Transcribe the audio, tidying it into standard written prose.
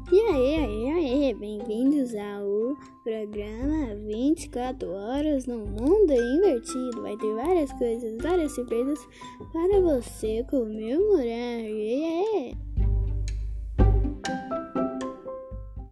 E aí, bem-vindos ao programa 24 horas no mundo invertido. Vai ter várias coisas, várias surpresas para você comemorar.